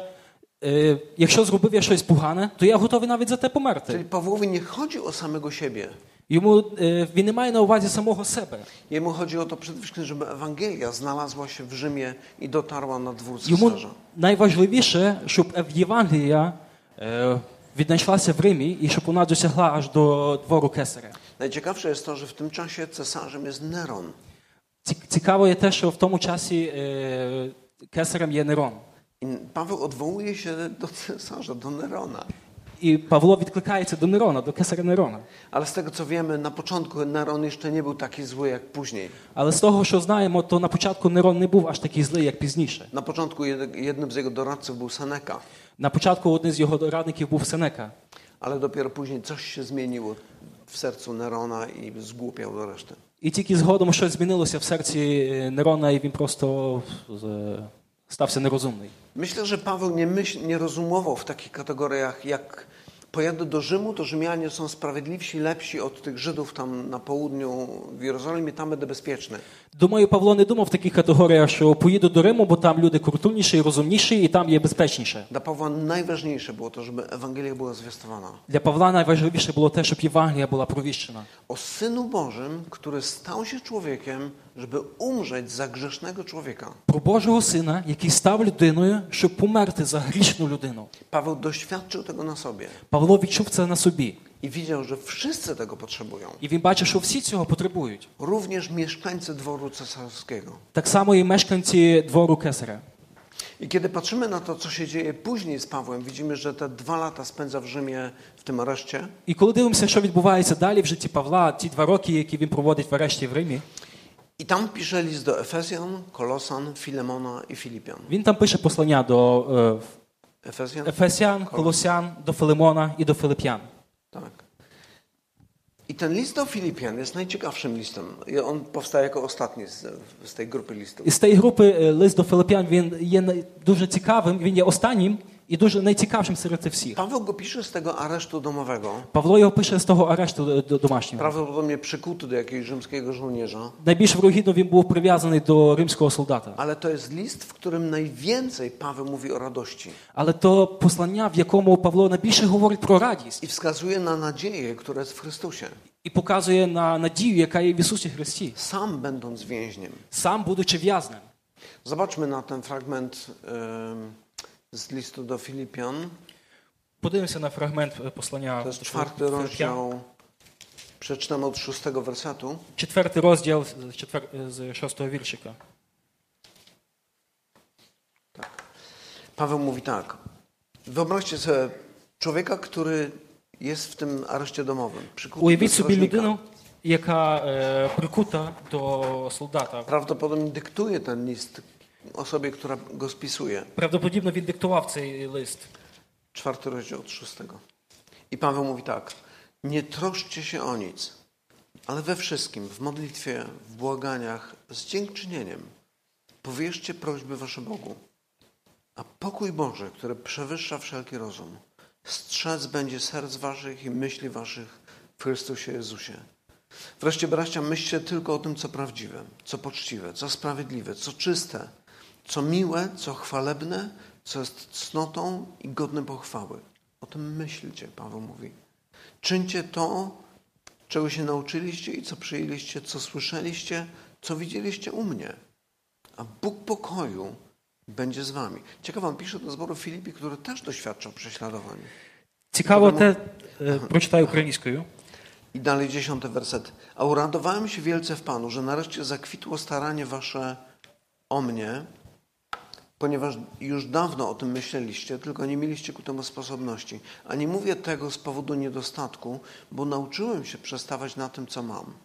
е, якщо зробив я щось погане, то я готовий навіть за те Czyli померти. Pawłowi nie chodzi o samego siebie. Йому, е, він не має на увазі самого себе. Jemu chodzi o to przede wszystkim, żeby Ewangelia znalazła się w Rzymie i dotarła na dwór Йому cesarza. найважливіше, щоб Євангелія е, віднайшлася в Римі і щоб вона досягла аж до двору кесаря. Najciekawsze jest to, że w tym czasie cesarzem jest Neron. Ці- Цікаво є те, що в тому часі е, кесарем є Нерон. I Paweł odwołuje się do cesarza, do Nerona. І Павло відкликається до Нерона, до кесаря Нерона. Ale z tego co wiemy, na początku Neron jeszcze nie był taki zły jak później. Але з того, що знаємо, то на початку Нерон не був аж такий злий, як пізніше. Na początku jed- jednym z jego doradców był Seneca, На початку один з його радників був Сенека. ale dopiero później coś się zmieniło w sercu Nerona i zgłupiał do reszty. І тільки згодом щось змінилося в серці Нерона, і він просто е, стався нерозумний. Myślę, że Paweł nie, myśl, nie rozumował w takich kategoriach jak pojadę do Rzymu, to Rzymianie są sprawiedliwsi, lepsi od tych Żydów tam na południu w Jerozolimie, tam będę bezpieczny. Думаю, Павло не думав в таких категоріях, що поїду до Риму, бо там люди культурніші, розумніші, і там є безпечніше. Dla Pawła najważniejsze było to, żeby Ewangelia była zwiastowana. Для Павла найважливіше було те, щоб Євангелія була провіщена. O Synu Bożym, który stał się człowiekiem, żeby umrzeć za grzesznego człowieka. Про Божого Сина, який став людиною, щоб померти за грішну людину. Paweł doświadczył tego na sobie Павло відчув це на собі. i widział, że wszyscy tego potrzebują. І він бачив, що всі цього потребують. Również mieszkańcy dworu cesarskiego. Так само і мешканці двору кесаря. I kiedy patrzymy na to, co się dzieje później z Pawłem, widzimy, że te dwa lata spędza w Rzymie w tym areszcie. І коли дивимося, що відбувається далі в житті Павла, ті два роки, які він проводить в арешті в Римі, I tam pisze list do Efezjan, Kolosan, Filemona i Filipian. він там пише послання до е, Efezjan? Ефесян, Колосян, до Филимона і до Филип'ян. Tak. I ten list do Filipian jest najciekawszym listem. I on powstaje jako ostatni z, z tej grupy listów. І з тієї групи е, лист до Филип'ян, він є най- дуже цікавим, він є останнім і дуже найцікавішим серед цих всіх. Paweł go pisze z tego aresztu domowego, Павло його пише з того арешту е, до- домашнього. prawdopodobnie przykuty do jakiegoś rzymskiego żołnierza. Найбільш вирогідно він був прив'язаний до римського солдата. Ale to jest list, w którym najwięcej Paweł mówi o radości Але то послання, в якому Павло найбільше говорить про радість i wskazuje na nadzieję, która jest w Chrystusie. і показує на надію, яка є в Ісусі Христі, Sam będąc więźniem. сам будучи в'язнем. Zobaczmy na ten fragment em, z listu do Filipian. Podивимося на фрагмент е, послання To jest до czwarty Филип'ян. rozdział. Przeczytam od szóstego wersetu. Четвертий розділ з четвер- з шостого віршика. Paweł mówi tak. Wyobraźcie sobie człowieka, który jest w tym areszcie domowym. przykuty do Уявіть собі strażnika. людину, яка е, прикута до солдата. Prawdopodobnie dyktuje ten list osobie, która go spisuje. Правдоподібно він диктував цей лист. Czwarty rozdział od szóstego. I Paweł mówi tak. Nie troszczcie się o nic, ale we wszystkim, w modlitwie, w błaganiach, z dziękczynieniem powierzcie prośby wasze Bogu. A pokój Boży, który przewyższa wszelki rozum, strzec będzie serc waszych i myśli waszych w Chrystusie Jezusie. Wreszcie, bracia, myślcie tylko o tym, co prawdziwe, co poczciwe, co sprawiedliwe, co czyste, co miłe, co chwalebne, co jest cnotą i godne pochwały. O tym myślcie, Paweł mówi. Czyńcie to, czego się nauczyliście i co przyjęliście, co słyszeliście, co widzieliście u mnie. A Bóg pokoju będzie z wami. Ciekawe, on pisze do zboru Filipi, który też doświadczał prześladowań. Цікаво те, е, прочитаю українською. I dalej dziesiąty werset. A uradowałem się wielce w Panu, że nareszcie zakwitło staranie wasze o mnie, ponieważ już dawno o tym myśleliście, tylko nie mieliście ku temu sposobności. A nie mówię tego z powodu niedostatku, bo nauczyłem się przestawać na tym, co mam.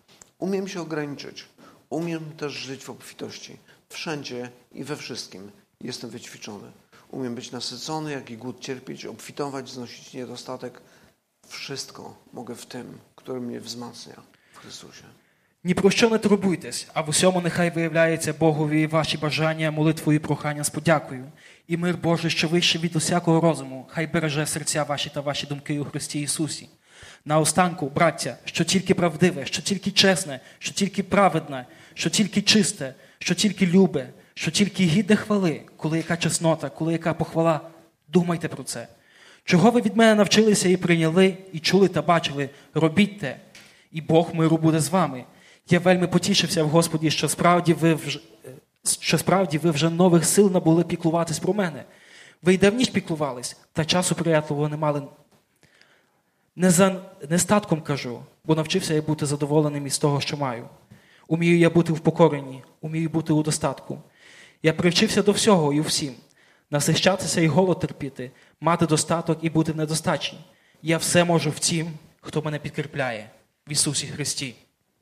Umiem się ograniczyć. Umiem też żyć w obfitości. Wszędzie i we wszystkim jestem wyćwiczony. Umiem być nasycony, jak i głód cierpieć, obfitować, znosić niedostatek. Wszystko mogę w tym, który mnie wzmacnia w Chrystusie. Ні про що не турбуйтесь, а в усьому нехай виявляється Богові ваші бажання, молитвою і прохання з подякою. І мир Божий, що вище від усякого розуму, хай береже серця ваші та ваші думки у Христі Ісусі. Наостанку, браття, що тільки правдиве, що тільки чесне, що тільки праведне, що тільки чисте, що тільки любе, що тільки гідне хвали, коли яка чеснота, коли яка похвала, думайте про це. Чого ви від мене навчилися і прийняли, і чули та бачили, робіть те, і Бог миру буде з вами. Я вельми потішився в Господі, що справді ви вже, що справді ви вже нових сил набули піклуватись про мене. Ви й давніше піклувались, та часу приятливого не мали. Не за нестатком кажу, бо навчився я бути задоволеним із того, що маю. Умію я бути в покоренні, умію бути у достатку. Я привчився до всього і у всім. Насищатися і голод терпіти, мати достаток і бути в недостачі. Я все можу в тім, хто мене підкріпляє. В Ісусі Христі.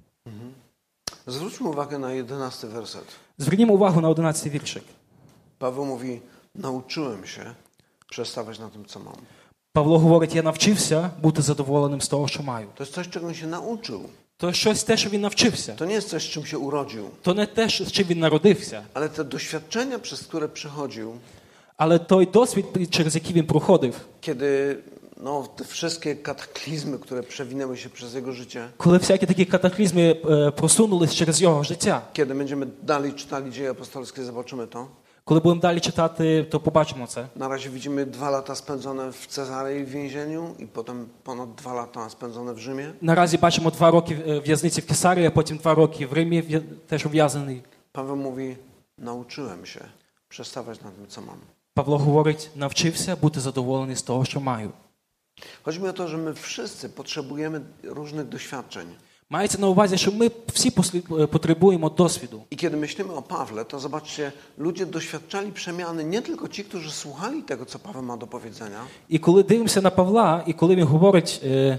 Zwróćmy uwagę na jedenasty werset. Zвернімо увагу на одинадцятий віршик. Paweł mówi, nauczyłem się przestawać na tym, co mam. Павло говорить, я навчився бути задоволеним з того, що маю. To jest coś, czego on się nauczył. То щось те, що він навчився. To nie jest coś, z czym się urodził. То не те, з чим він народився. Ale te doświadczenia, przez które przechodził, Але той досвід, через який він проходив, kiedy no, te wszystkie kataklizmy, które przewinęły się przez jego życie, коли всякі такі катаклізми е, просунулись через його життя, kiedy będziemy dalej czytali Dzieje Apostolskie, zobaczymy to. коли будемо далі читати, то побачимо це. Na razie widzimy dwa lata spędzone w Cezarei w więzieniu i potem ponad dwa lata spędzone w Rzymie. Наразі бачимо два роки е, в'язниці в Кесарії, а потім два роки в Римі в'я- теж ув'язаний. Paweł mówi, nauczyłem się przestawać na tym, co mam. Павло говорить, навчився бути задоволений з того, що маю. Chodzi mi o to, że my wszyscy potrzebujemy różnych doświadczeń. Мається на увазі, що ми всі послі- е, потребуємо досвіду. I kiedy myślimy o Pawle, to zobaczcie, ludzie doświadczali przemiany, nie tylko ci, którzy słuchali tego, co Paweł ma do powiedzenia. І коли дивимося на Павла, і коли він говорить, е,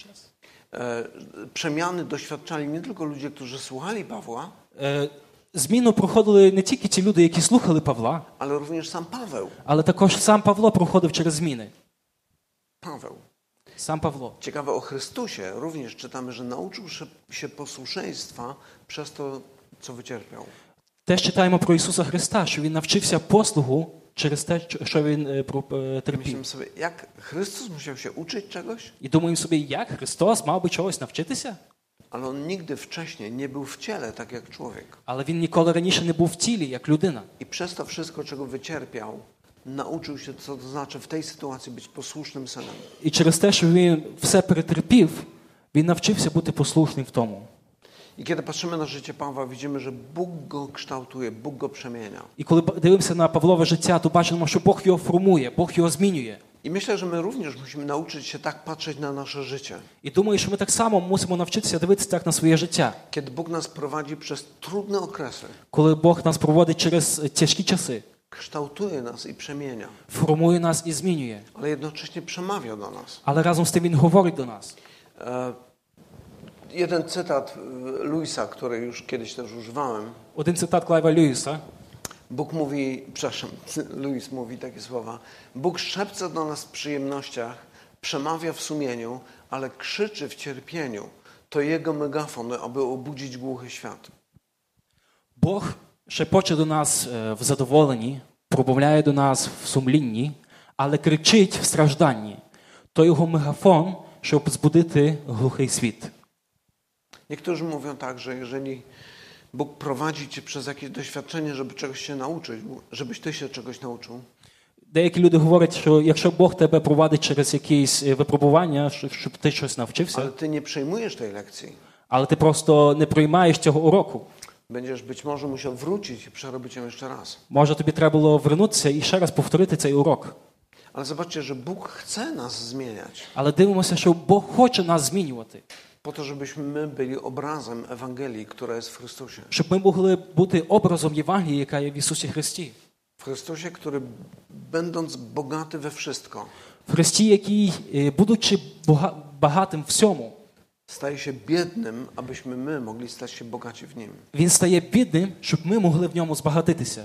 E, przemiany doświadczali nie tylko ludzie, którzy słuchali Pawła, е, зміну проходили не тільки ті люди, які слухали Павла, ale również sam Paweł. але також сам Павло проходив через зміни. Paweł. Сам Павло. Ciekawe, o Chrystusie również czytamy, że nauczył się- się posłuszeństwa przez to, co wycierpiał. Теж читаємо про Ісуса Христа, що Він навчився послугу через те, що Він е, про- е, терпів. Myślimy sobie, jak Chrystus musiał się uczyć czegoś, І думаємо собі, як Христос мав би чогось навчитися? ale on nigdy wcześniej nie był w ciele, tak jak człowiek. Але Він ніколи раніше не був в тілі, як людина. I przez to wszystko, czego wycierpiał, nauczył się, co to znaczy w tej sytuacji być posłusznym synem. І через те, що Він все перетерпів, Він навчився бути послушним в тому. I kiedy patrzymy na życie Pawła, widzimy, że Bóg go kształtuje, Bóg go przemienia. І коли дивимося на Павлове життя, то бачимо, що Бог його формує, Бог його змінює. I myślę, że my również musimy nauczyć się tak patrzeć na nasze życie. І думаю, що ми так само мусимо навчитися дивитися так на своє життя. Kiedy Bóg nas prowadzi przez trudne okresy, Коли Бог нас проводить через тяжкі часи, kształtuje nas i przemienia, формує нас і змінює. ale jednocześnie przemawia do nas. Але разом з тим Він говорить до нас. E, jeden cytat e, Luisa, który już kiedyś też używałem. Один цитат Клайва Льюіса. Bóg mówi, przepraszam, Luis mówi takie słowa. Bóg szepce do nas w przyjemnościach, przemawia w sumieniu, ale krzyczy w cierpieniu. To Jego megafon, aby obudzić głuchy świat. Бог шепоче до нас е, в задоволенні, промовляє до нас в сумлінні, але кричить в стражданні. То його мегафон, щоб збудити глухий світ. Niektórzy mówią tak, że jeżeli Bóg prowadzi cię przez jakieś doświadczenie, żeby czegoś się nauczyć, żebyś ty się czegoś nauczył, Деякі люди говорять, що якщо Бог тебе провадить через якісь е, випробування, щоб щоб ти щось навчився, ale ty nie przejmujesz tej lekcji, але ти просто не приймаєш цього уроку, będziesz być może musiał wrócić i przerobić ją jeszcze raz. може тобі треба було вернутися і ще раз повторити цей урок. Ale zobaczcie, że Bóg chce nas zmieniać Але дивимося, що Бог хоче нас змінювати, po to, żebyśmy my byli obrazem Ewangelii, która jest w Chrystusie. щоб ми могли бути образом Євангелії, яка є в Ісусі Христі. W Chrystusie, który będąc bogaty we wszystko, В Христі, який, е, будучи бога- багатим всьому, Staje się biednym, abyśmy my mogli stać się bogaci w Nim. Він стає бідним, щоб ми могли в ньому збагатитися.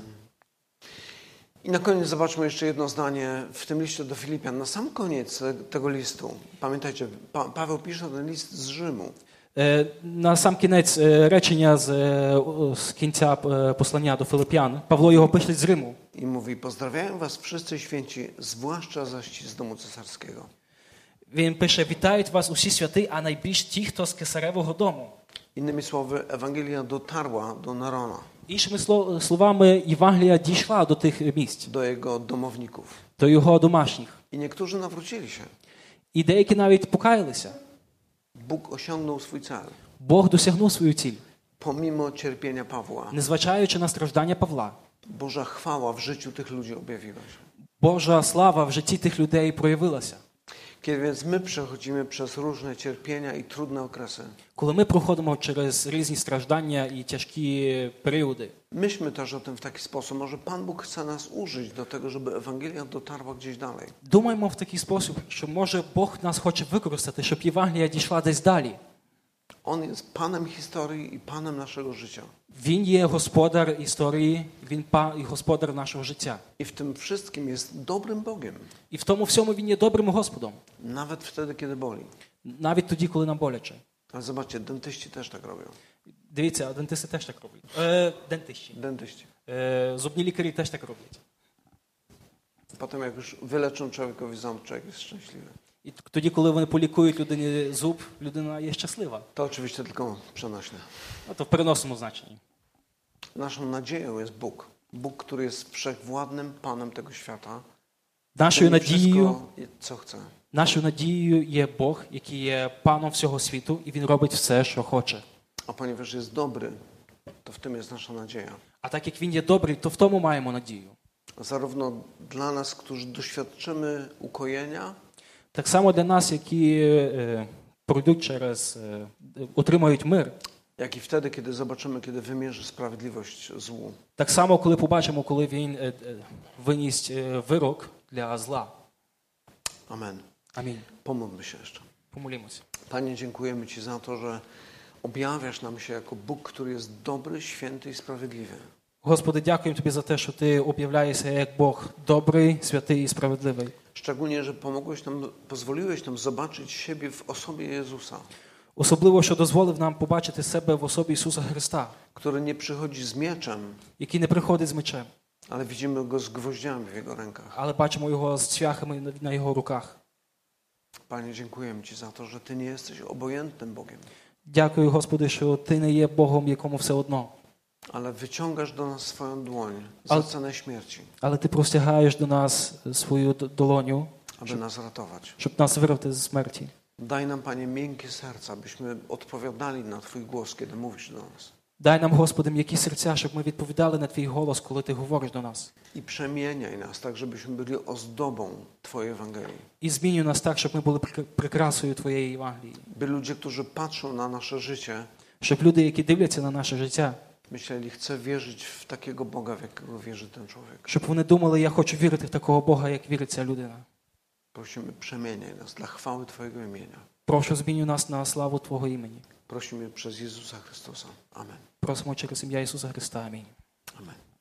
I na koniec zobaczmy jeszcze jedno zdanie w tym liście do Filipian. Na sam koniec te- tego listu, pamiętajcie, pa- Paweł pisze ten list z Rzymu. Е, На сам кінець е, речення з, е, о, з кінця е, послання до Филип'ян, Павло його пише з Риму. I mówi, pozdrawiają was wszyscy święci, zwłaszcza zaś z domu cesarskiego. Він пише: вітають вас усі святи, а найбільш ті, хто з кесаревого дому. Innymi słowy, Ewangelia dotarła do Nerona, Іншими сло- словами, Євангелія дійшла до тих місць, do jego domowników. до його домашніх. I niektórzy nawrócili się. І деякі навіть покаялися. Bóg osiągnął swój cel, Бог досягнув свою ціль, pomimo cierpienia Pawła. незважаючи на страждання Павла. Boża chwała w życiu tych ludzi objawiła się. Божа слава в житті тих людей проявилася. Kiedy więc my przechodzimy przez różne cierpienia i trudne okresy, Коли ми проходимо через різні страждання і тяжкі періоди, myślmy też o tym w taki sposób. Może Pan Bóg chce nas użyć do tego, żeby Ewangelia dotarła gdzieś dalej. думаємо в такий спосіб, що може Бог нас хоче використати, щоб Євангелія дійшла десь далі. On jest Panem historii i Panem naszego życia. Він є господар історії, він па і господар нашого життя. I w tym wszystkim jest dobrym Bogiem. І в тому всьому він є добрим Господом, Nawet wtedy, kiedy boli. навіть тоді, коли нам боляче. Ale zobaczcie, dentyści też tak robią. Дивіться, дентисти теж так роблять. Е, дентищі. Dentyści. Е, зубні лікарі теж так роблять. Potem jak już wyleczą człowiekowi ząb, człowiek jest szczęśliwy. І тоді, коли вони полікують людині зуб, людина є щаслива. To oczywiście tylko przenośne. Ну, то в переносному значенні. Naszą nadzieją jest Bóg. Bóg, który jest wszechwładnym Panem tego świata. Нашою Czyni надією, wszystko, co chce. нашою надією є Бог, який є паном всього світу, і він робить все, що хоче. A ponieważ jest dobry, to w tym jest nasza nadzieja. А так як він є добрий, то в тому маємо надію. Zarówno dla nas, którzy doświadczymy ukojenia, Так само для нас, які е, пройдуть через, е, отримають мир, jak i wtedy, kiedy zobaczymy, kiedy wymierzy sprawiedliwość złu. так само, коли побачимо, коли він е, е, виніс е, вирок для зла. Amen. Амінь. Pomódlmy się jeszcze. Помолімося. Panie, dziękujemy Ci za to, że objawiasz nam się jako Bóg, który jest dobry, święty i sprawiedliwy. Господи, дякуємо Тобі за те, що Ти об'являєшся як Бог добрий, святий і справедливий. Szczególnie, że pomogłeś nam, pozwoliłeś nam zobaczyć siebie w osobie Jezusa, Особливо, що дозволив нам побачити себе в особі Ісуса Христа, który nie przychodzi z mieczem, який не приходить з мечем, ale widzimy Go z gwoździami w Jego rękach. але бачимо Його з цвяхами на- на Його руках. Panie, dziękujemy Ci za to, że Ty nie jesteś obojętnym Bogiem, Дякую, Господи, що Ти не є Богом, якому все одно, ale wyciągasz do nas swoją dłoń Ale- za cenę śmierci, але Ти простягаєш до нас свою д- долоню, aby nas ratować. щоб нас вирвати з смерті. Daj nam, Panie, miękkie serca, byśmy odpowiadali na Twój głos, kiedy mówisz do nas. Дай нам, Господи, м'які серця, щоб ми відповідали на Твій голос, коли Ти говориш до нас. I przemieniaj nas tak, żebyśmy byli ozdobą Twojej Ewangelii. І змінюй нас так, щоб ми були прик- прикрасою Твоєї Євангелії. By ludzie, którzy patrzą na nasze życie, Щоб люди, які дивляться на наше життя, myśleli, chcę wierzyć w takiego Boga, w jakiego wierzy ten człowiek. щоб вони думали, я хочу вірити в такого Бога, як вірить ця людина. Prosimy, przemieniaj nas dla chwały Twojego imienia. Прошу, змінюй нас на славу Твого імені. Prosimy przez Jezusa Chrystusa. Amen. Просимо через ім'я Ісуса Христа. Амінь. Amen.